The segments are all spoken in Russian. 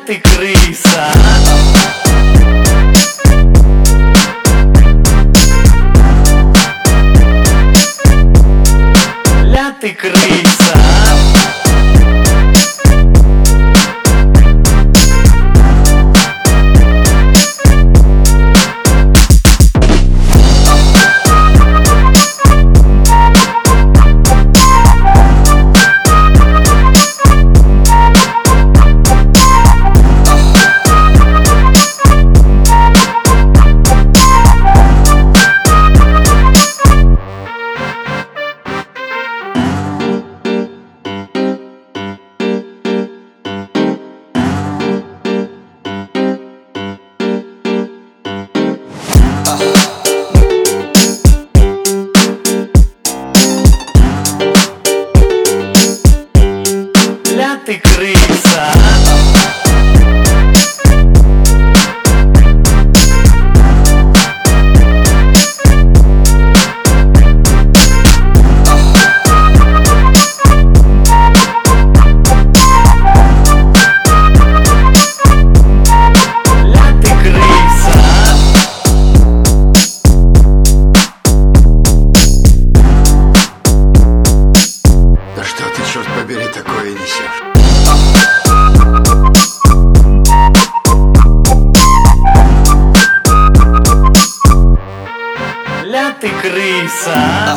ты крыса. Ля ты крыса. Ля ты крыса. Черт побери, такое несешь. Ля ты крыса.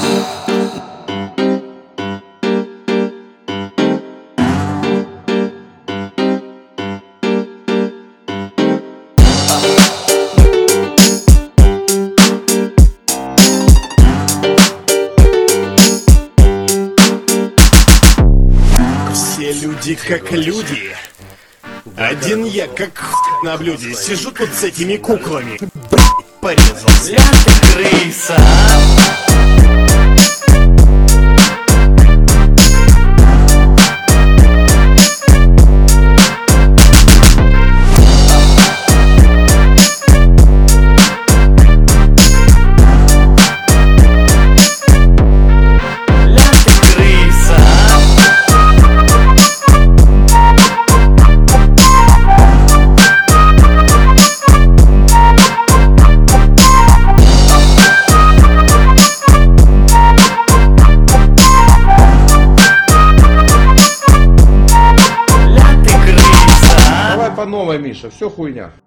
Все люди как люди. Один я как на блюде. Сижу тут с этими куклами. Порезался. Ля ты крыса. Давай по новой, Миша, все хуйня.